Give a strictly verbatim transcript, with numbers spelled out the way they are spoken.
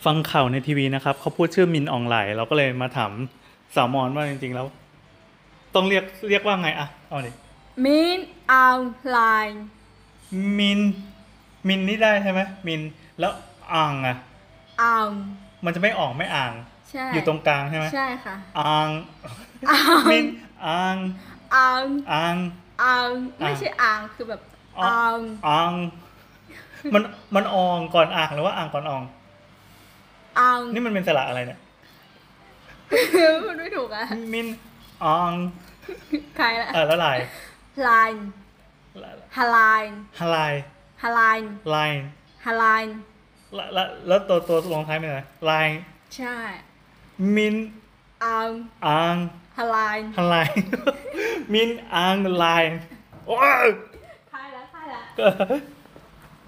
ฟังข่าวในทีวีนะครับเขาพูดชื่อมินอองไหลเราก็เลยมาถามสาวมอนว่าจริงๆแล้วต้องเรียกเรียกว่าไงอะเอาดิมินออนไลน์มินมินนี่ได้ใช่ไหมมินแล้วอ่างอะออนมันจะไม่ออกไม่อ่างใช่อยู่ตรงกลางใช่ไหมใช่ค่ะอ่างออนมินอ่างออนอ่างออนไม่ใช่อ่างคือแบบออนอ่างมันมันอองก่อนอ่างหรือว่าอ่างก่อนอองออนนี่มันเป็นสระอะไรเนี่ยมันไม่ถูกอะมินอ่างใครละเออแล้วลายไลน์ฮาไลน์ฮาลายฮาไลน์ลายฮาไลน์แล้วแล้วแล้วตัวตัวลงท้ายเป็นอะไรลายใช่มินออนอ่างฮาไลน์ฮาลาย มินอ่างลายโอ้ยใครละใครละก็